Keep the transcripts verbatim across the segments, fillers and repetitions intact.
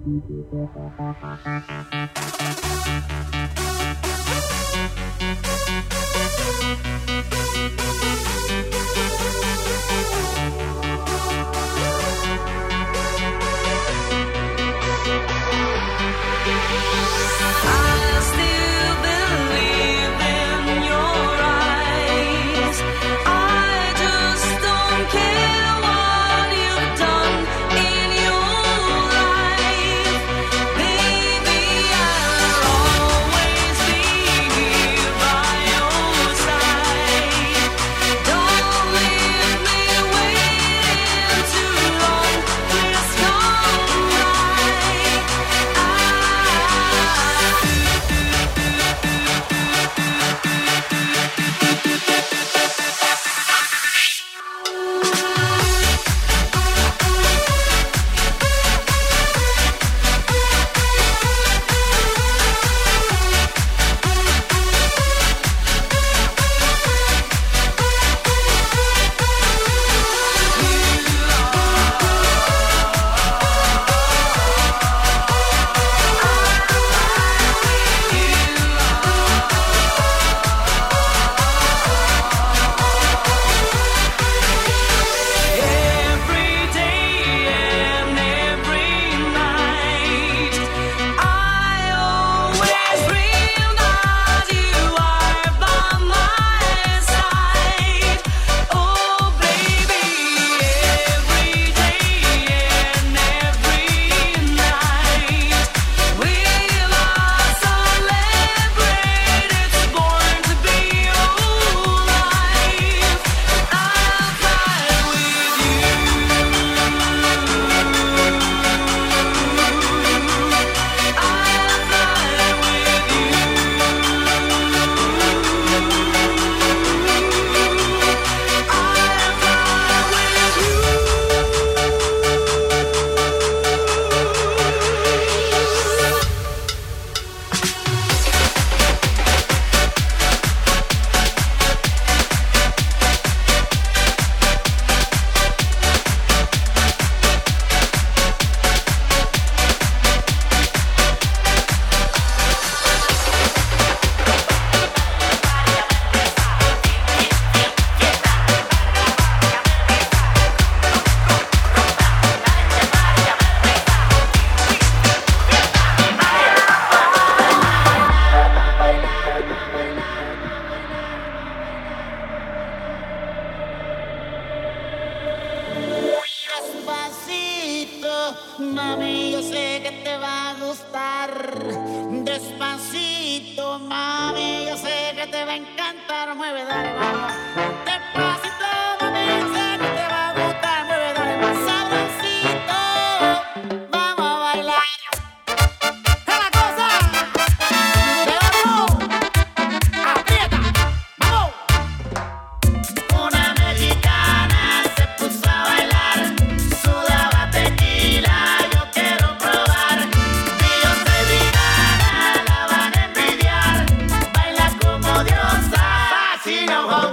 Mami, yo sé que te va a gustar. Despacito, mami, yo sé que te va a encantar. Mueve, dale, vamos. Despacito, mami, yo sé que te va a gustar. Mueve, dale, más sabrosito. Vamos a bailar. ¡Es la cosa! ¡De oro! ¡Aprieta! ¡Vamos! Una mexicana se puso a bailar. Sudaba tequila, yo quiero probar. Beyoncé y Rihanna la van a envidiar. Baila como diosa, fascina.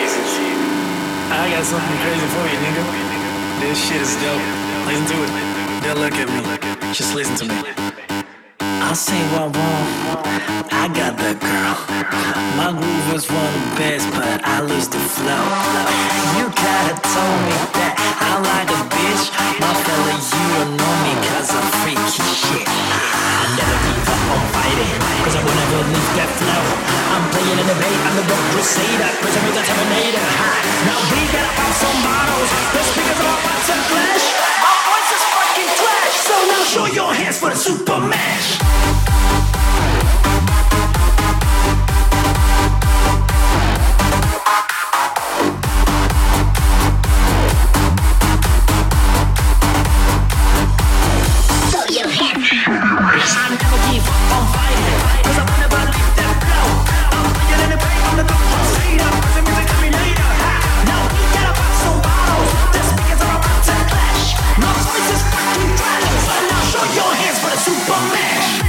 I got something crazy for you, nigga. This shit is dope. Listen to it. Now look at me. Just listen to me. I'll say what I want. I got that girl. My groove was one of the best, but I lose the flow. You kinda told me that I like a bitch. My fella, you don't know me cause I'm freaky shit. I never give up on fighting, cause I will never leave that flow. I'm playing in the bay, I'm the rock crusader, cause I'm the Terminator. Now we gotta pop some bottles, the speakers are about to clash. My voice is fucking trash, so now show your hands for the Super Mash. I never give up on fighting, cause I will never leave that flow. I'm playing in the bay, I'm the Doctor Crusader, cause I'm the Terminator. Now we gotta pop some bottles, the speakers are about to clash. My voice is fucking trash, so now show your hands for the Super Mash.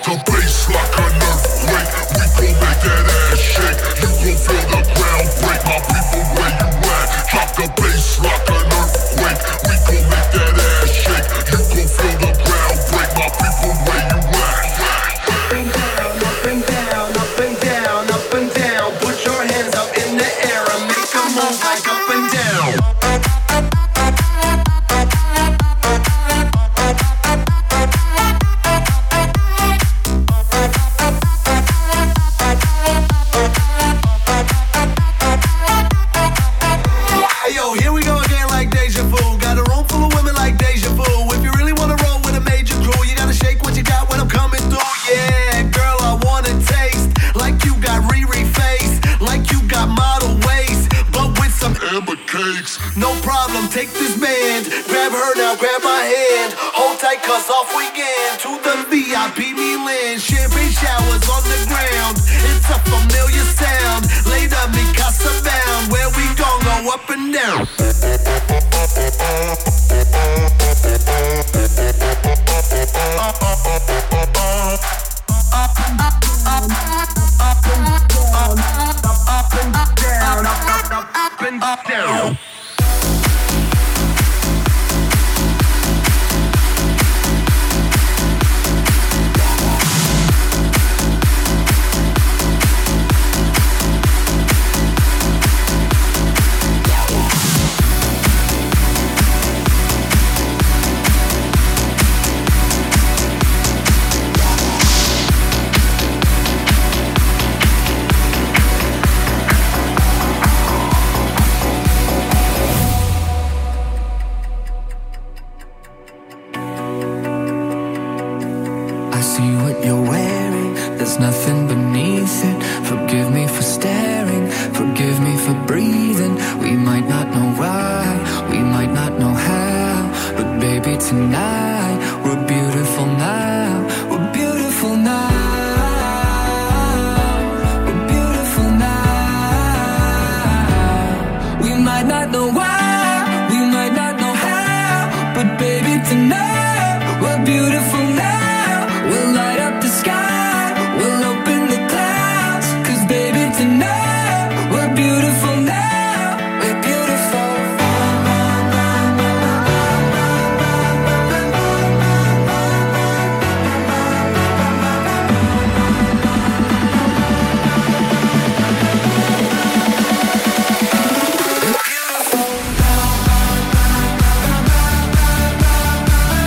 the bass like an earthquake. We gon' make that ass shake. You gon' feel the ground break. My people, where you at? Drop the bass like an earthquake. We gon' make that ass shake. You gon' feel the ground break. My people, where you at? Up and down, up and down, up and down, up and down. Put your hands up in the air and make a move like up and down. No problem, take this band. Grab her now, grab my hand. Hold tight, cause off we get to the V I P Milan. Champagne showers on the ground. It's a familiar sound. Later, mi casa bound. Where we gon' go up and down. Up, and down, up, up, up, up and down. Nothing beneath it. Forgive me for staring, forgive me for breathing. We might not know why, we might not know how, but baby tonight, we're beautiful now, we're beautiful now, we're beautiful now. We might not know why, we might not know how, but baby tonight, we're beautiful now. We'll light up the sky. Tonight, we're beautiful now, we're beautiful. We're beautiful.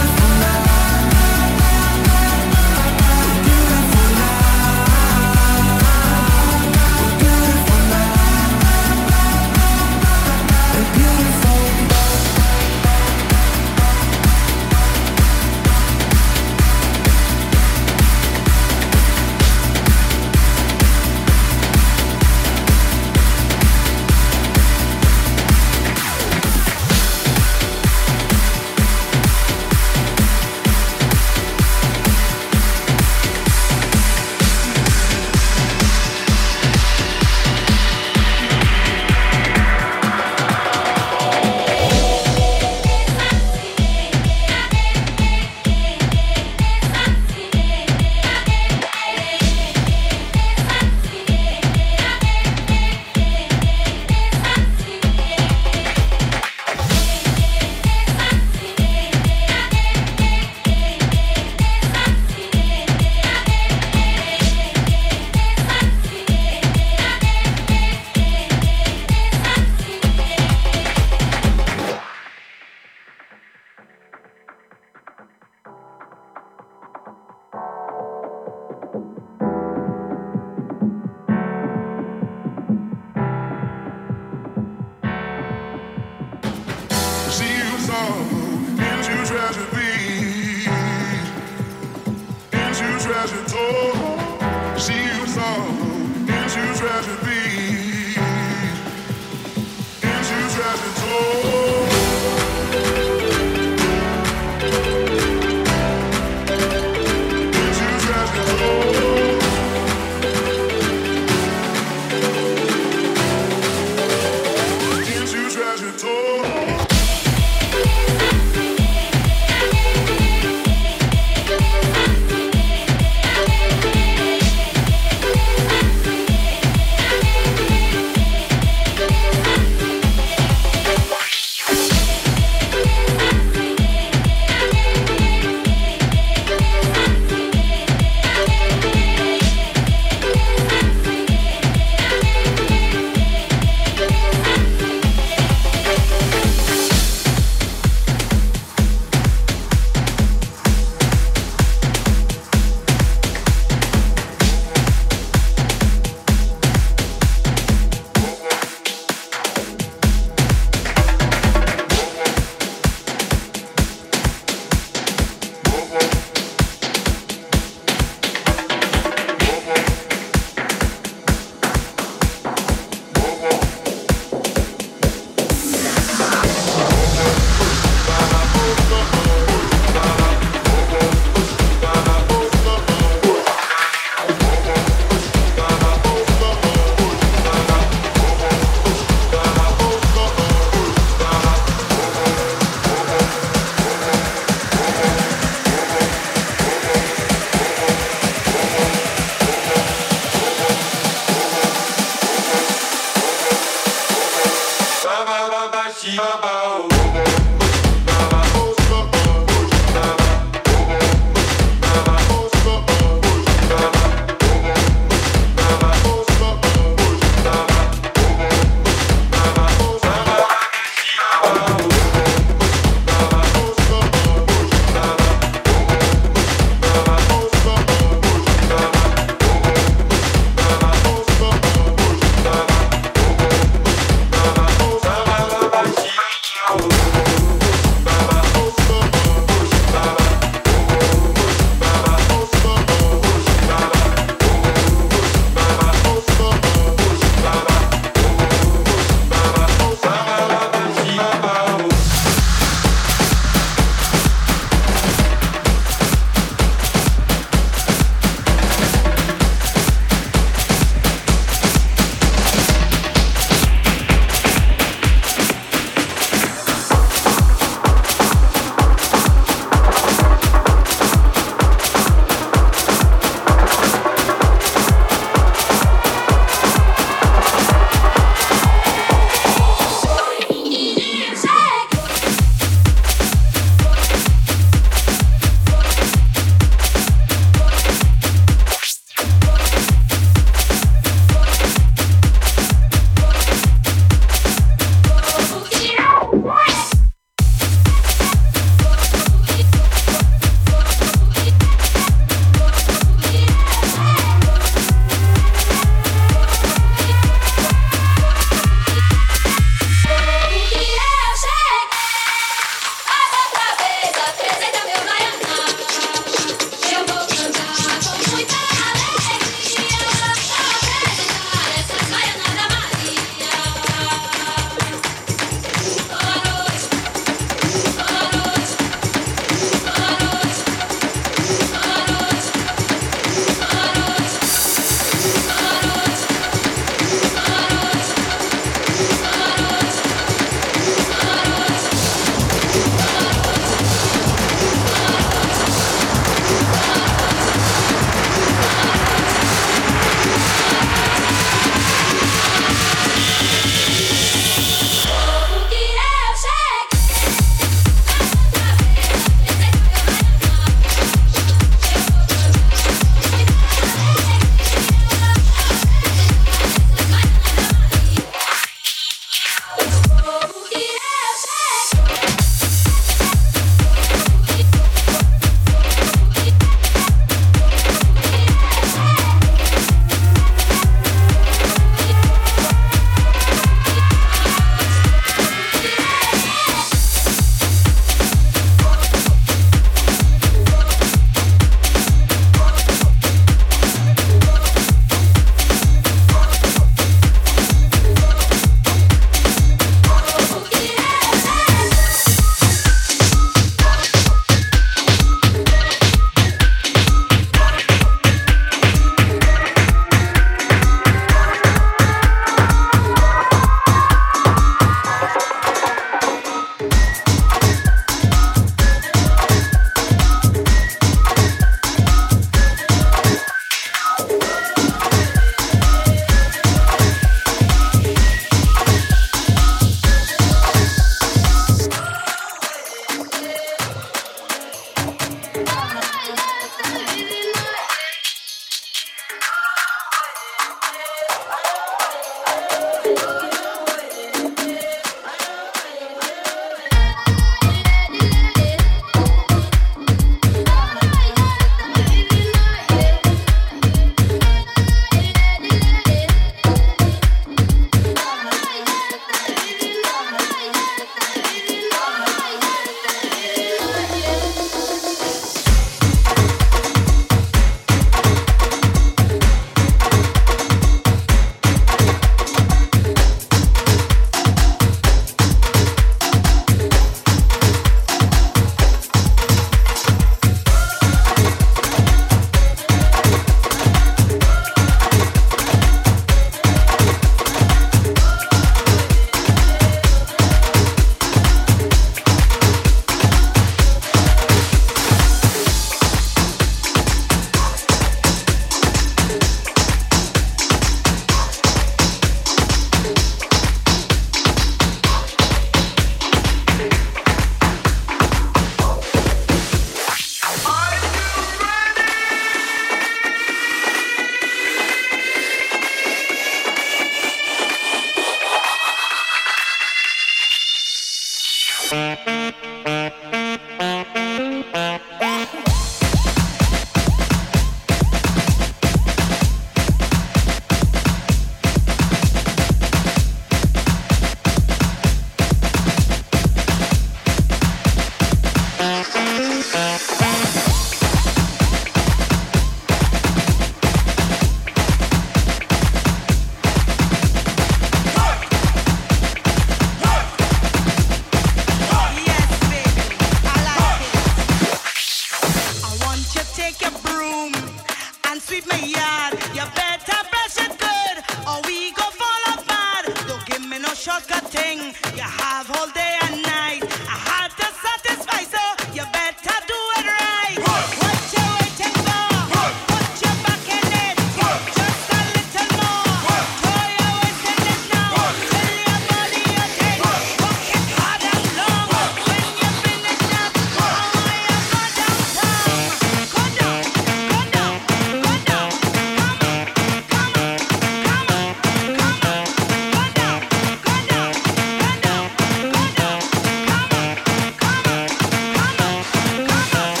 take your broom and sweep my yard. You better brush it good, or we go fall apart. Don't give me no shortcut thing. You have all day and night. I had to satisfy, so you better do it right. What you waiting for? Put your back in it. Just a little more. Throw your waist in it now. Tell your body you take. Work it hard and long. When you finish up, I want you go downtown. Go down, go down, go down. Come on, come on, come on, come on. Go down, go down, go down, go down. Come on, come on, come on, come on.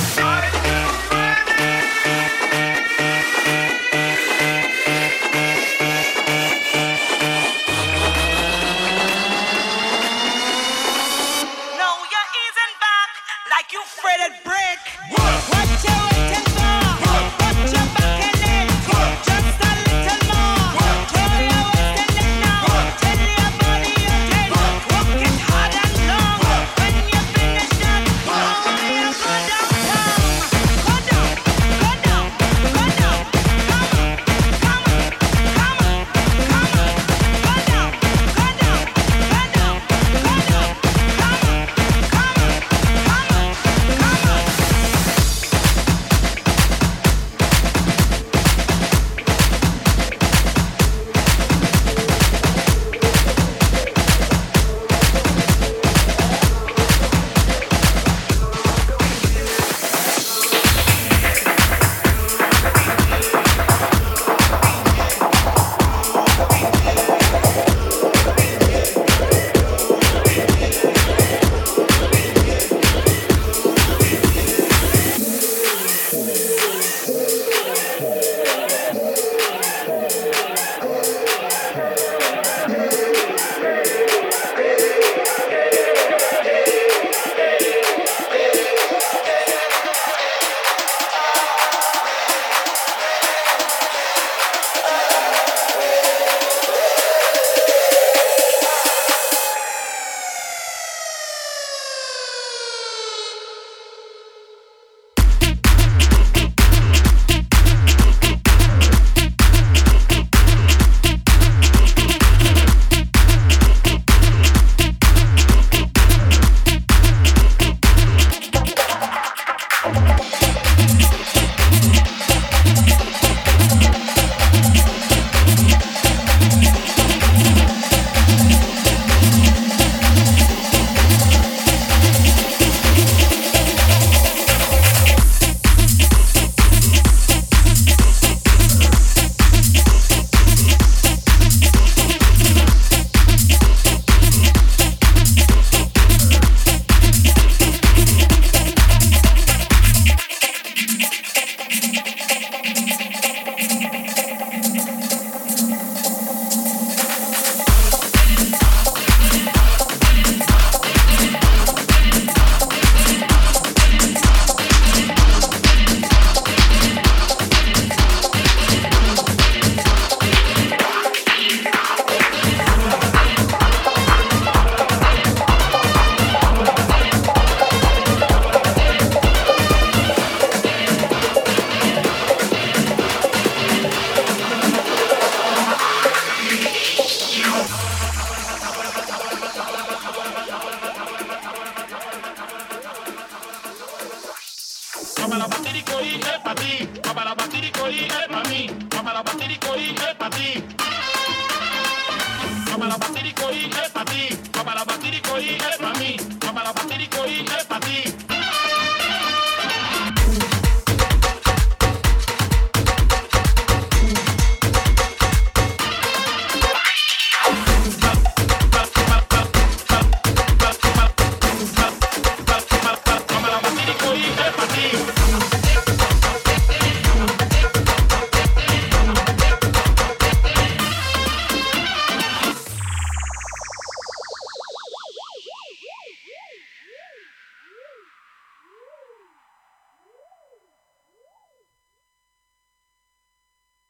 Now you're easing back like you fretted brick. What you waiting for? Put your back in it. Just a little more. Throw your waist in it now. Tell your body you take. Work it hard and long. When you finish that, I want you go downtown. Go down, go down, go down. Come on, come on, come on, come on. Go down, go down, go down, go down. Come on, come on, come on, come on. Mamá la batirico y es pa' ti. Mamá la batirico y es pa' mí. Mamá la batirico y es pa' ti. Mamá la batirico y es pa' ti. Mamá la batirico y es pa' mí. Mamá la batirico y es pa' ti.